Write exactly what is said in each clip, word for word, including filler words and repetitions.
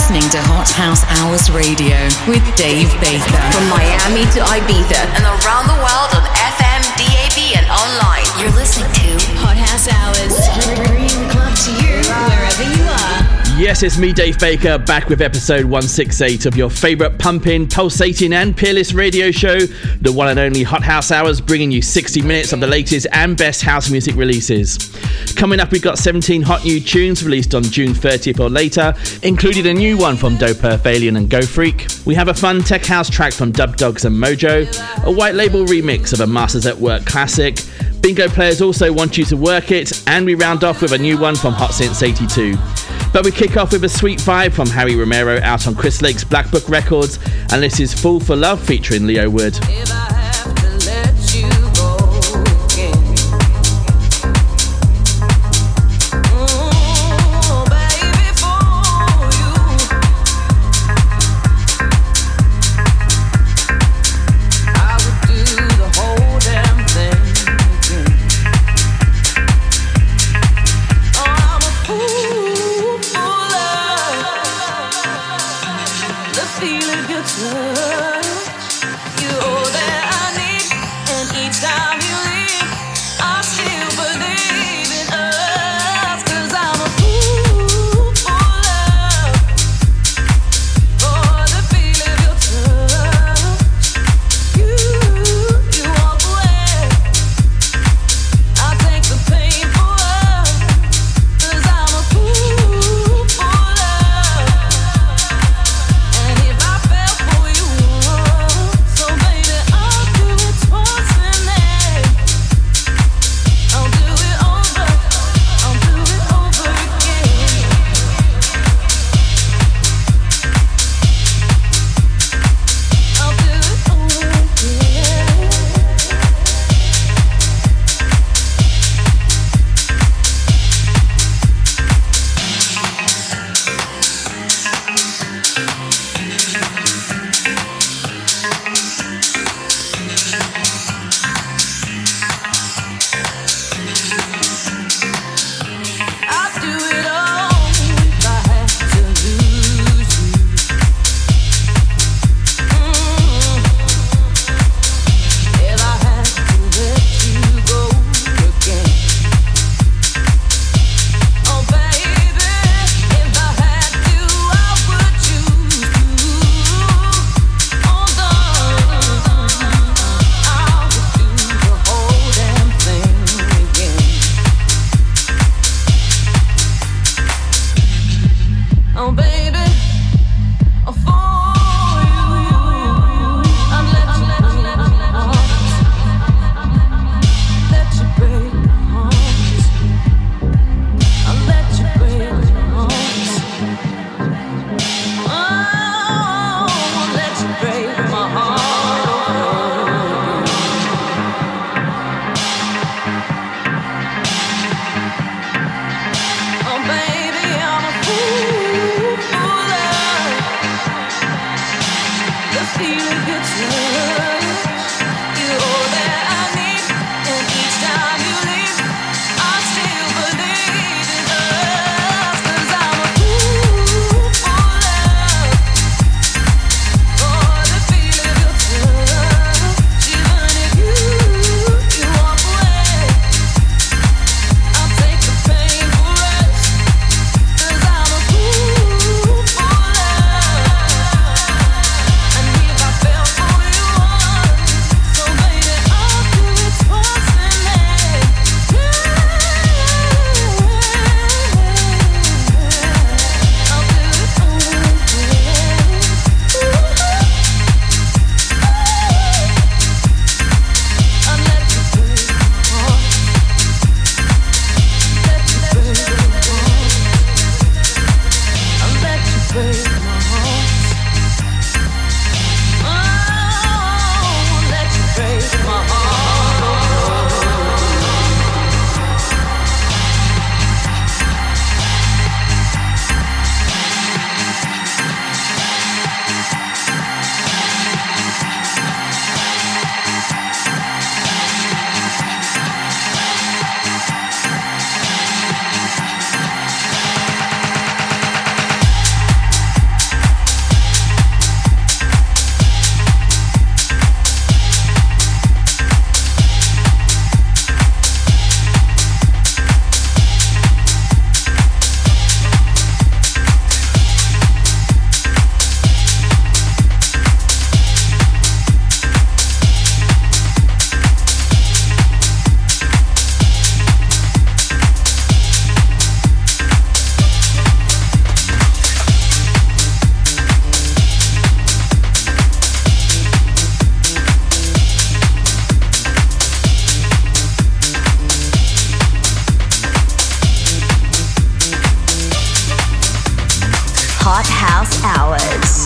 listening to Hot House Hours Radio with Dave Baker. From Miami to Ibiza and around the world on F M, D A B and online. You're listening to Hot House Hours, bringing the club to you wherever you are. Yes, it's me, Dave Baker, back with episode one sixty-eight of your favourite pumping, pulsating and peerless radio show, the one and only Hot House Hours, bringing you sixty minutes of the latest and best house music releases. Coming up, we've got seventeen hot new tunes released on June thirtieth or later, including a new one from Dope Earth Alien and Go Freak. We have a fun tech house track from Dub Dogs and Mojo, a white label remix of a Masters at Work classic. Bingo players also want you to work it, and we round off with a new one from Hot Since eighty-two. But we kick off with a sweet vibe from Harry Romero out on Chris Lake's Black Book Records, and this is Fool for Love featuring Leo Wood. Feeling good touch, you, oh, that I Hot House Hours.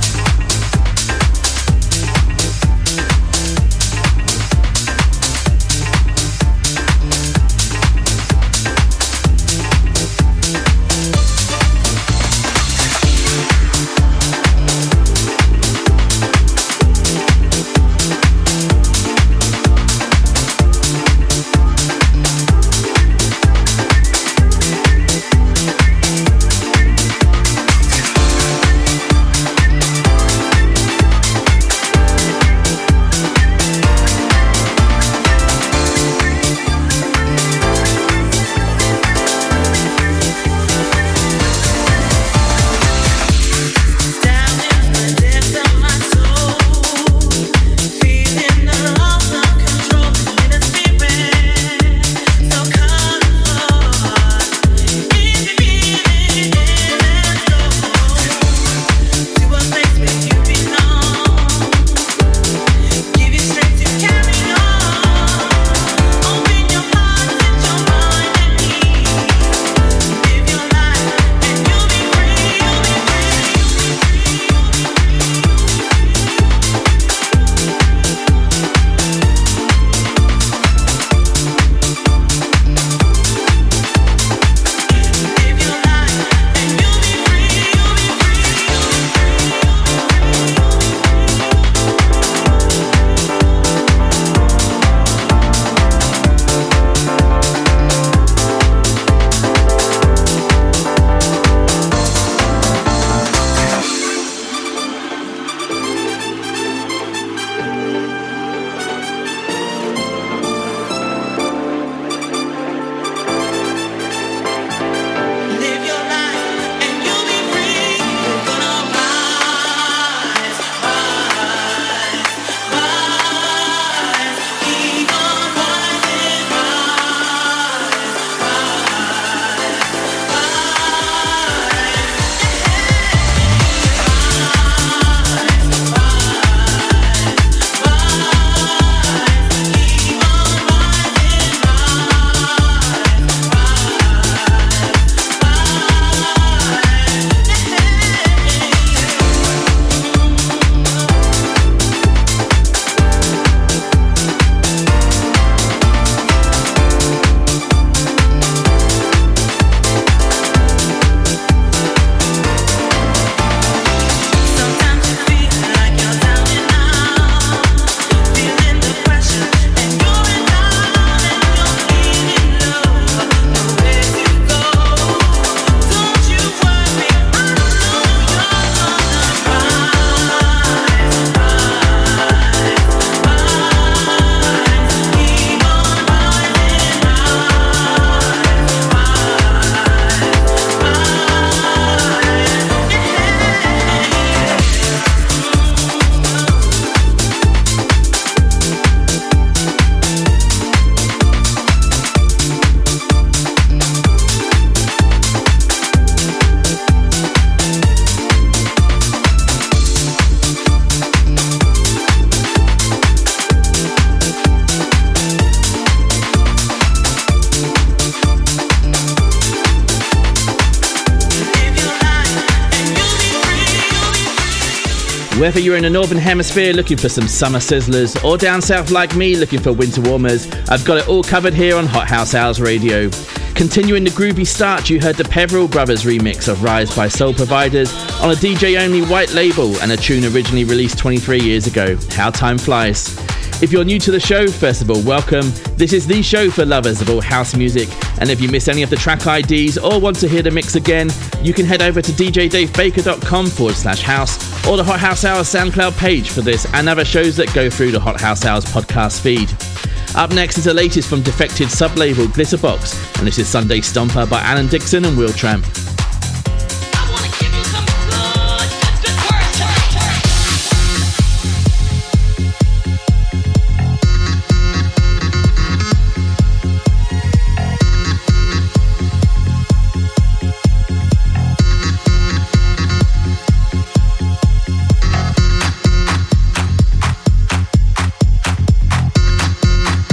Whether you're in the Northern Hemisphere looking for some summer sizzlers or down south like me looking for winter warmers, I've got it all covered here on Hot House Hours Radio. Continuing the groovy start, you heard the Peveril Brothers remix of Rise by Soul Providers on a D J-only white label and a tune originally released twenty-three years ago, How Time Flies. If you're new to the show, first of all, welcome. This is the show for lovers of all house music, and if you miss any of the track I Ds or want to hear the mix again, you can head over to djdavebaker.com forward slash house or the Hot House Hours SoundCloud page for this and other shows that go through the Hot House Hours podcast feed. Up next is the latest from defected sub-label Glitterbox, and this is Sunday Stomper by Alan Dixon and Will Tramp.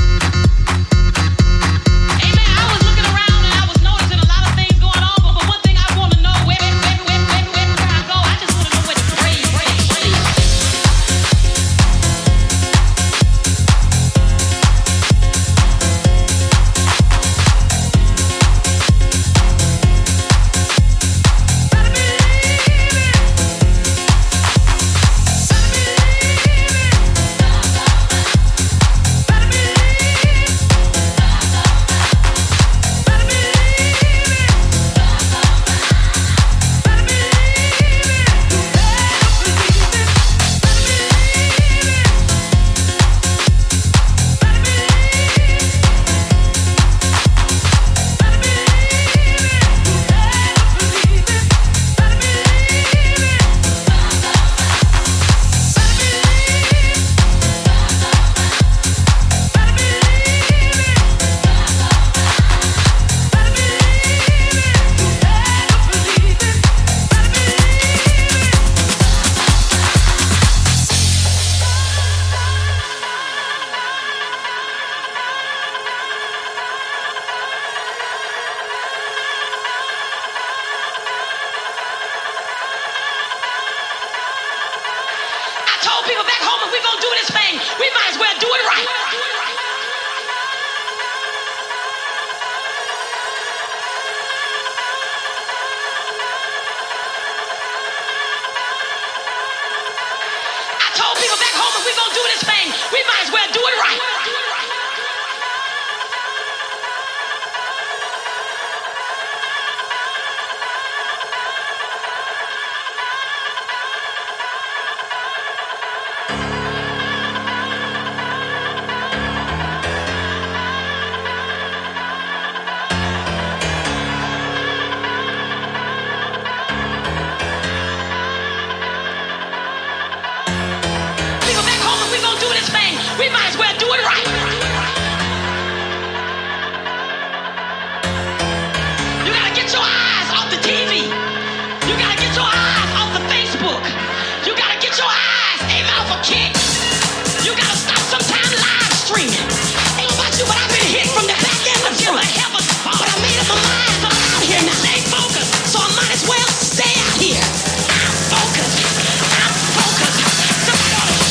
Amen. I was looking around and I was noticing a lot of things going on, but, but one thing home, if we gonna do this thing, we might as well do it right. I told people back home, if we gonna do this thing, we might as well do it right. We might as well do it right. You gotta get your eyes off the T V. You gotta get your eyes off the Facebook. You gotta get your eyes aim off a kick. You gotta stop sometime live streaming. Ain't about you, but I've been hit from the back end of you. I have a spot, but I made up my mind. I'm out here now. Stay focused, so I might as well stay out here. I'm focused. I'm focused. Somebody ought to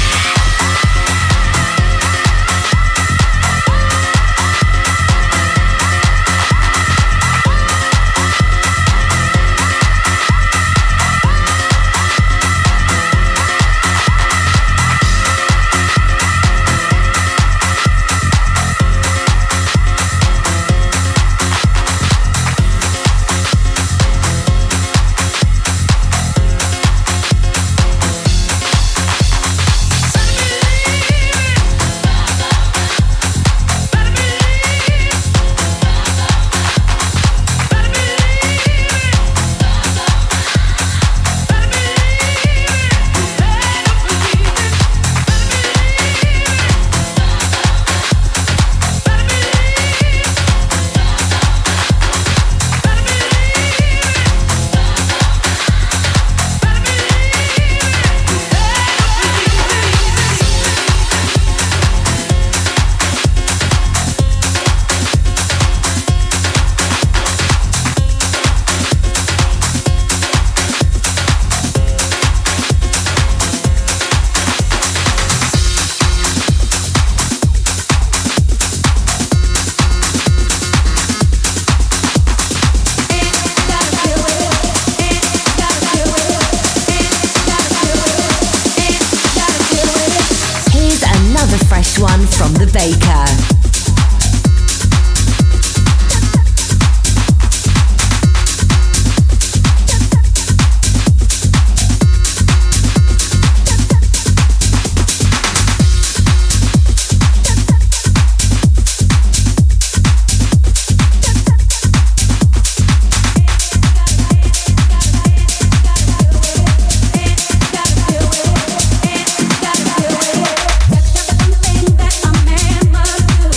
one from the Baker. That I'm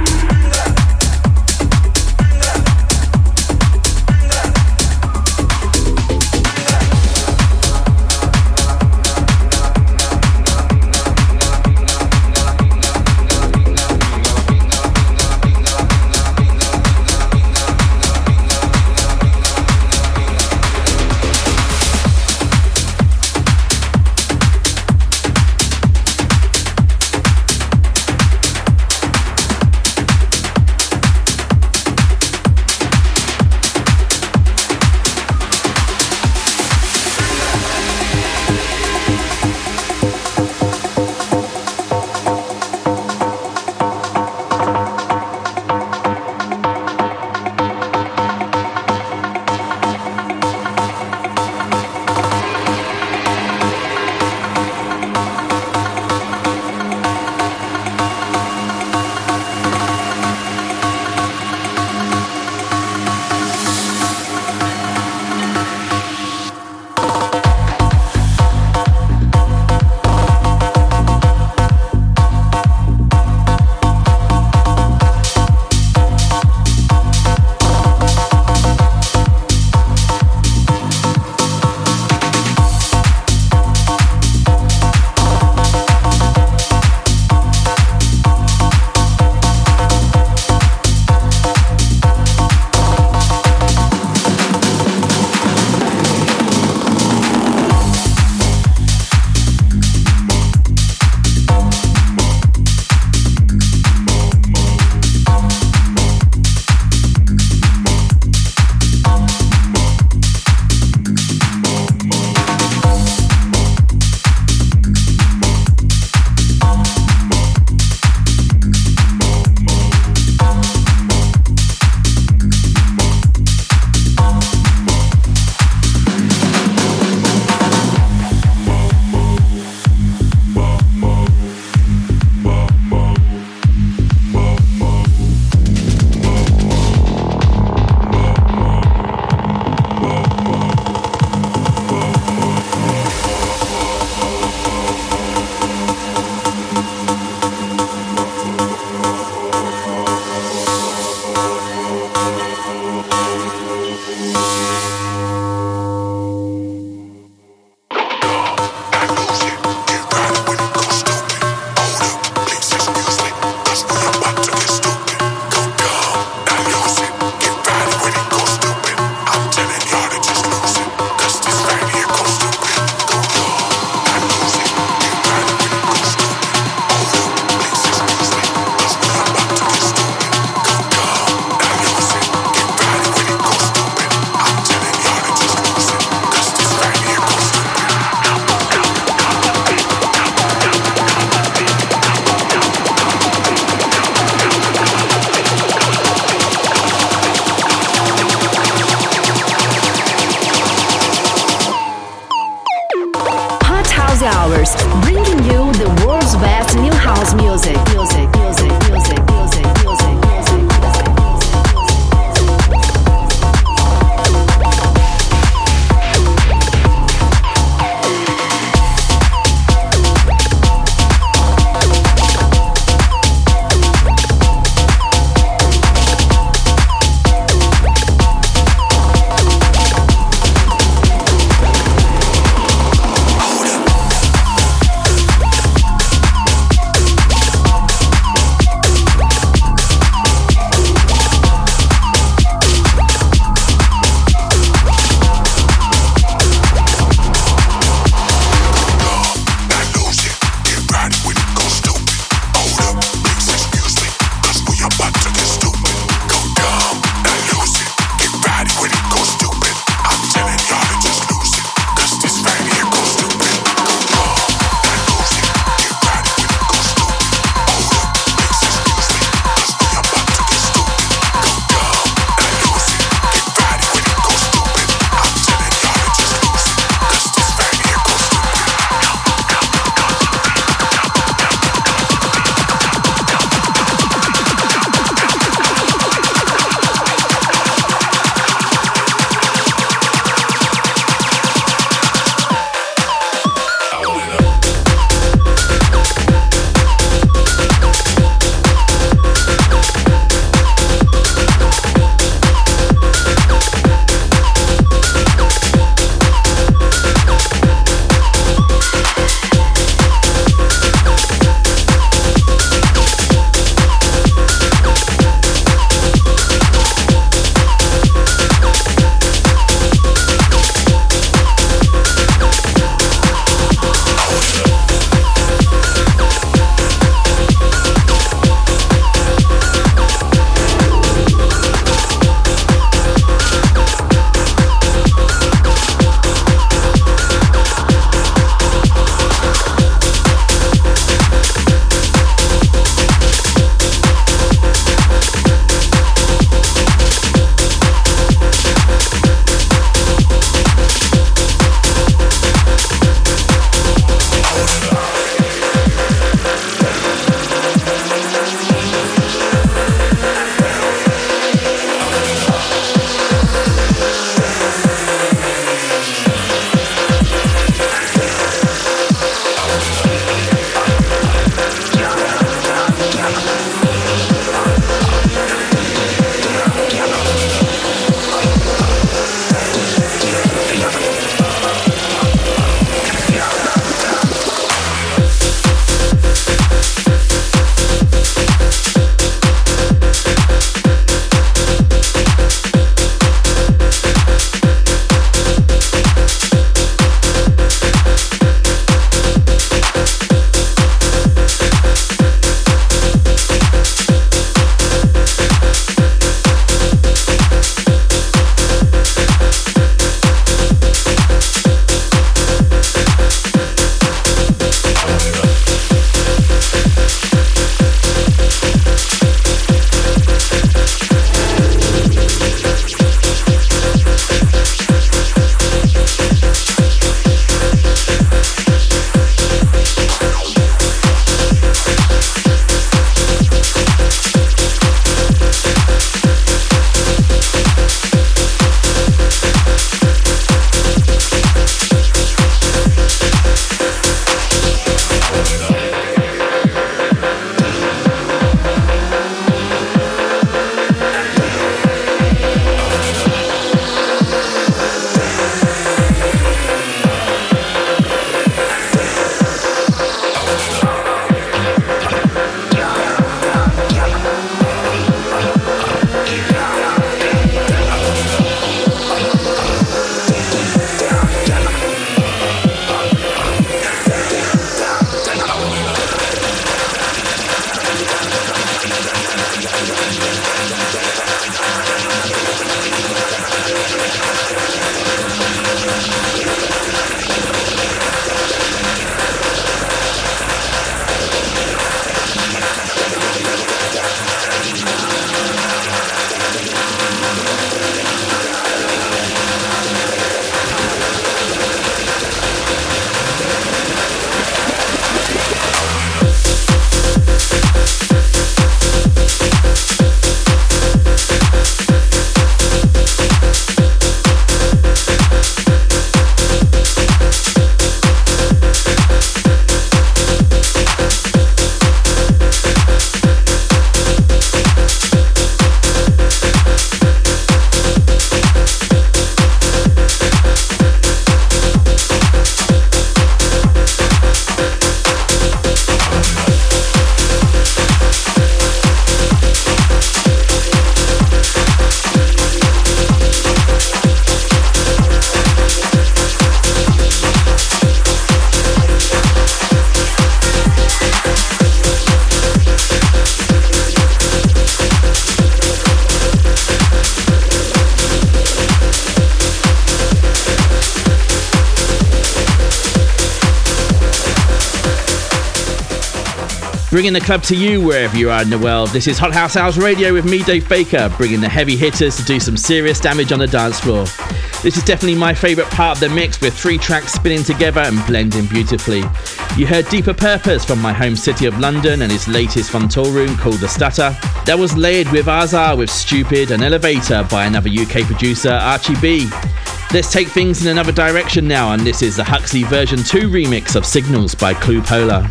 Bringing the club to you wherever you are in the world. This is Hot House Hours Radio with me, Dave Baker, bringing the heavy hitters to do some serious damage on the dance floor. This is definitely my favourite part of the mix, with three tracks spinning together and blending beautifully. You heard Deeper Purpose from my home city of London and his latest from Toolroom called The Stutter. That was layered with Azar with Stupid and Elevator by another U K producer, Archie B. Let's take things in another direction now, and this is the Huxley version two remix of Signals by Clue Polar.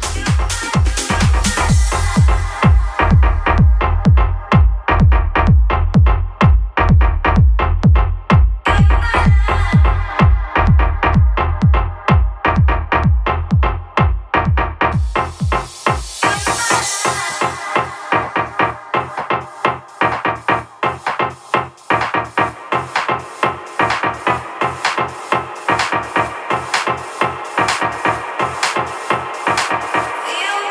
Feel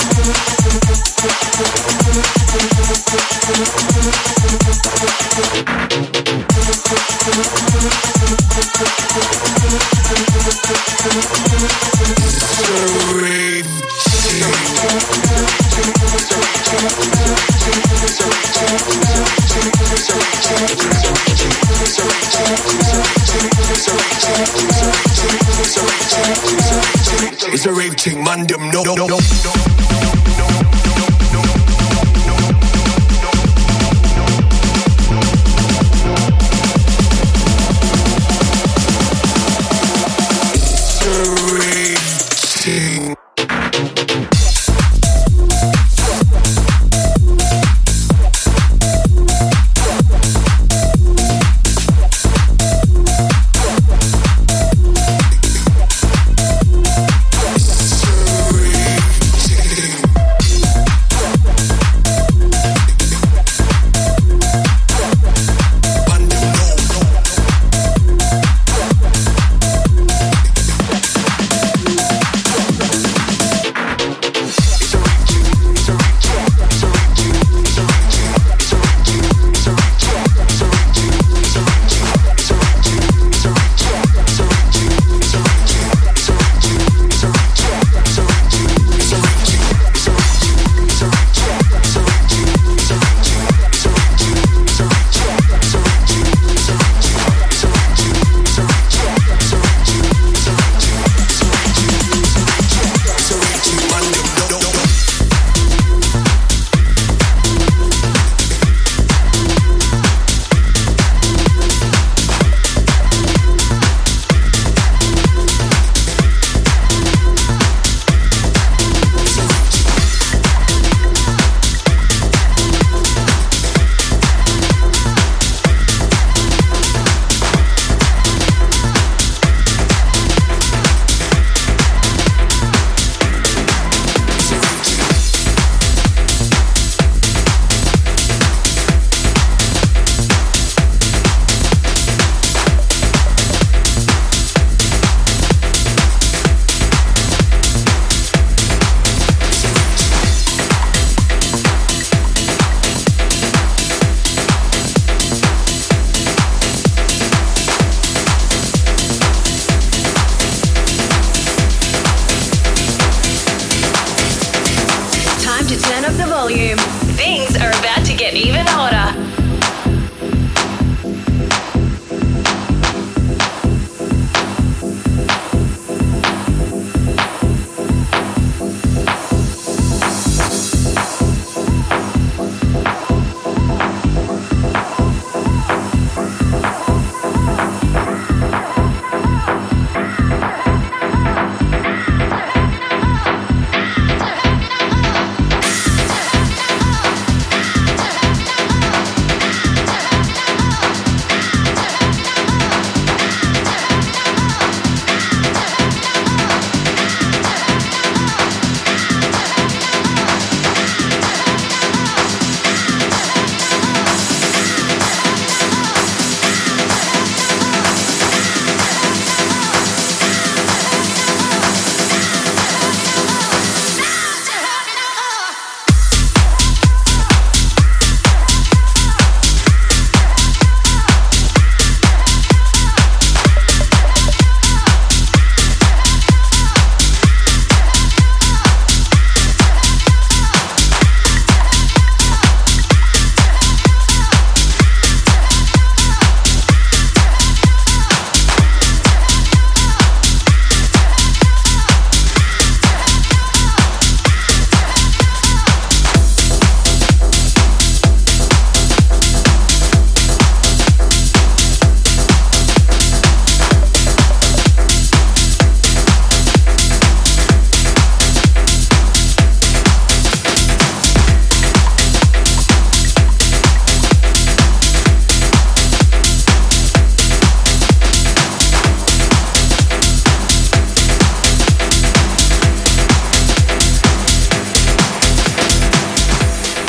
It's a rave thing, man, them no, no, no, no.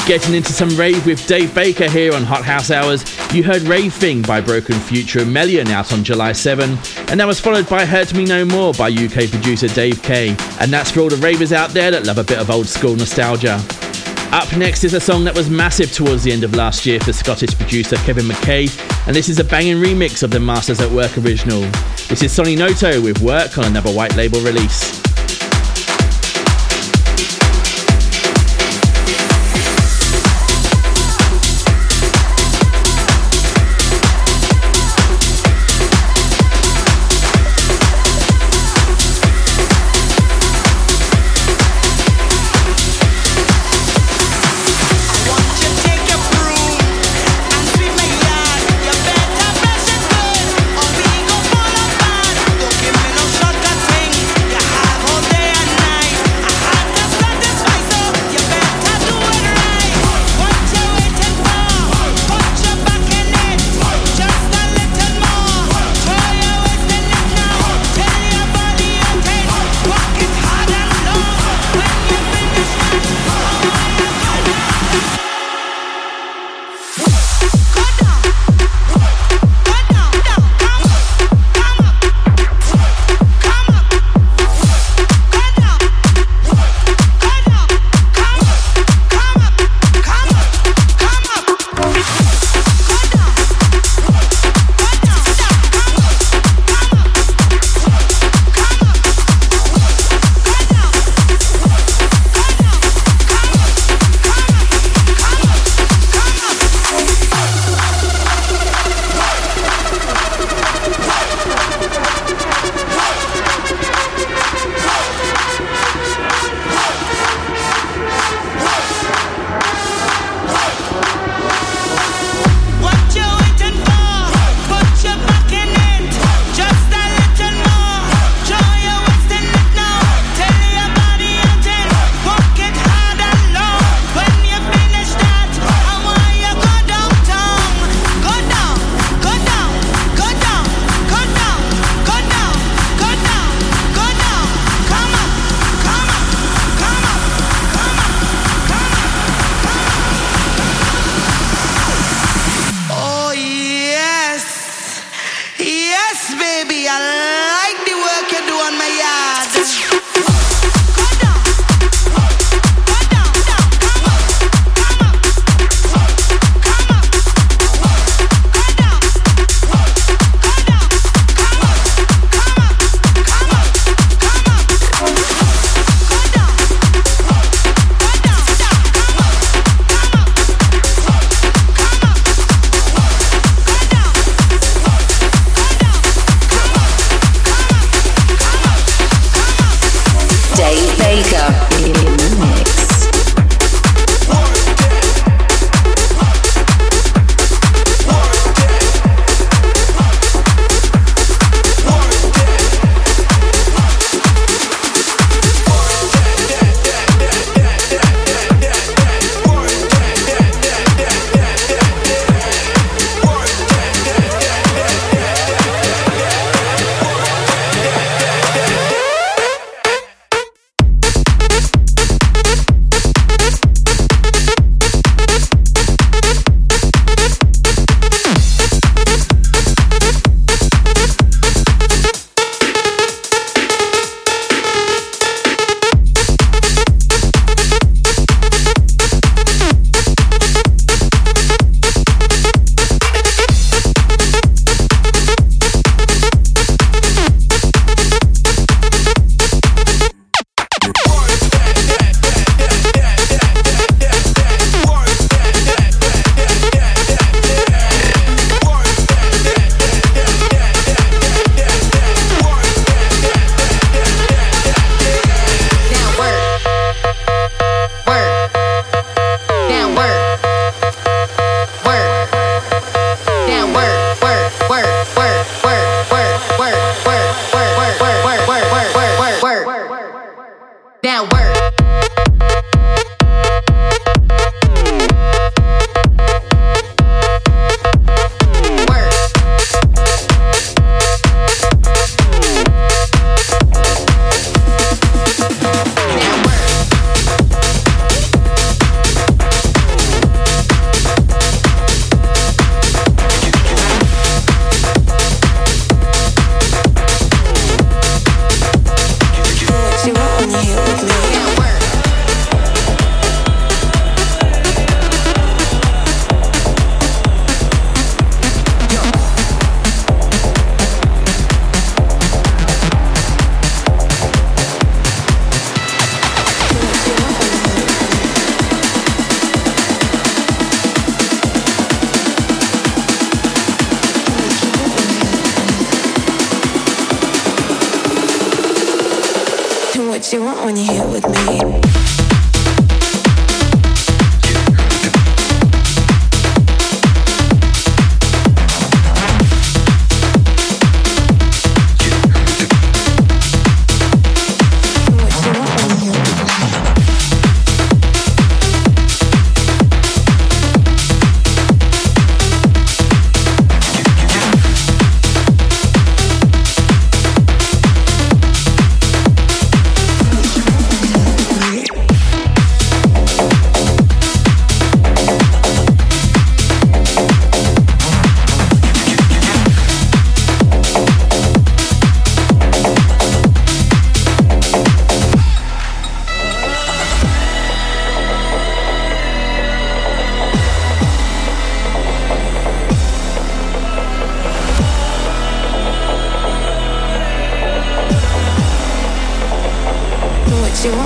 Getting into some rave with Dave Baker here on Hot House Hours. You heard Rave Thing by Broken Future and Melian out on July seventh, and that was followed by Hurt Me No More by U K producer Dave K. And that's for all the ravers out there that love a bit of old school nostalgia. Up next is a song that was massive towards the end of last year for Scottish producer Kevin McKay, and this is a banging remix of the Masters at Work original. This is Sonny Noto with Work on another white label release. Have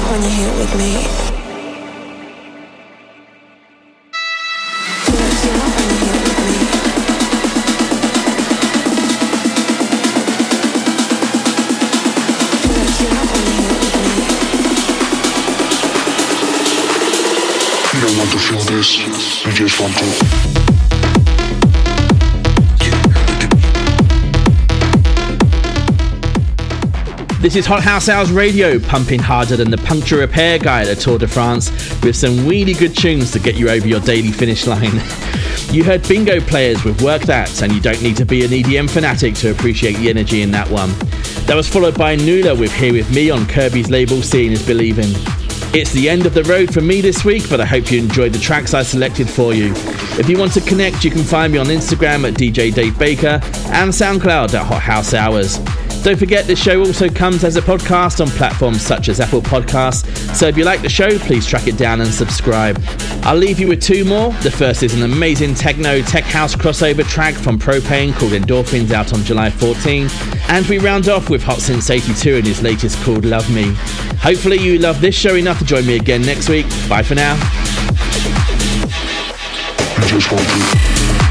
on your hip with me. You don't want to feel this, you just want to. This is Hot House Hours Radio, pumping harder than the puncture repair guy at the Tour de France, with some really good tunes to get you over your daily finish line. You heard Bingo Players with Work That, and you don't need to be an E D M fanatic to appreciate the energy in that one. That was followed by Nula with Here With Me on Kirby's label Seeing Is Believing. It's the end of the road for me this week, but I hope you enjoyed the tracks I selected for you. If you want to connect, you can find me on Instagram at D J Dave Baker and SoundCloud at Hot House Hours. Don't forget, this show also comes as a podcast on platforms such as Apple Podcasts, so if you like the show, please track it down and subscribe. I'll leave you with two more. The first is an amazing techno tech house crossover track from Propane called Endorphins, out on July fourteenth, and we round off with Hot Since eighty-two and his latest called Love Me. Hopefully you love this show enough to join me again next week. Bye for now. You just want to.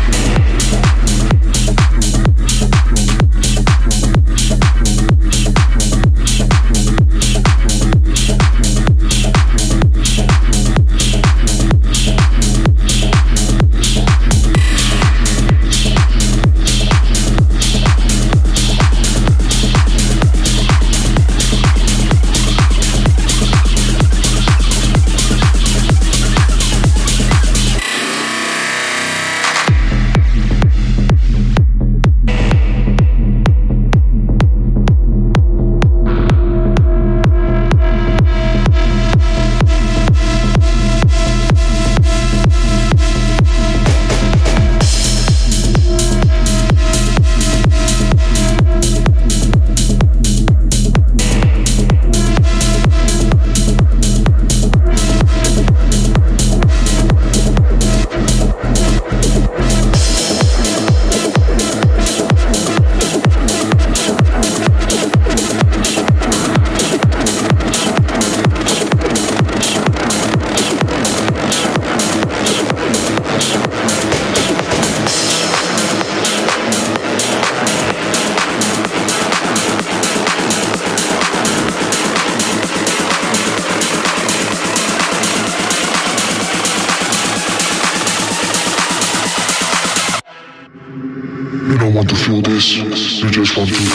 Want to feel this, you just want to.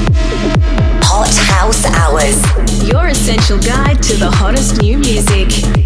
Hot House Hours, your essential guide to the hottest new music.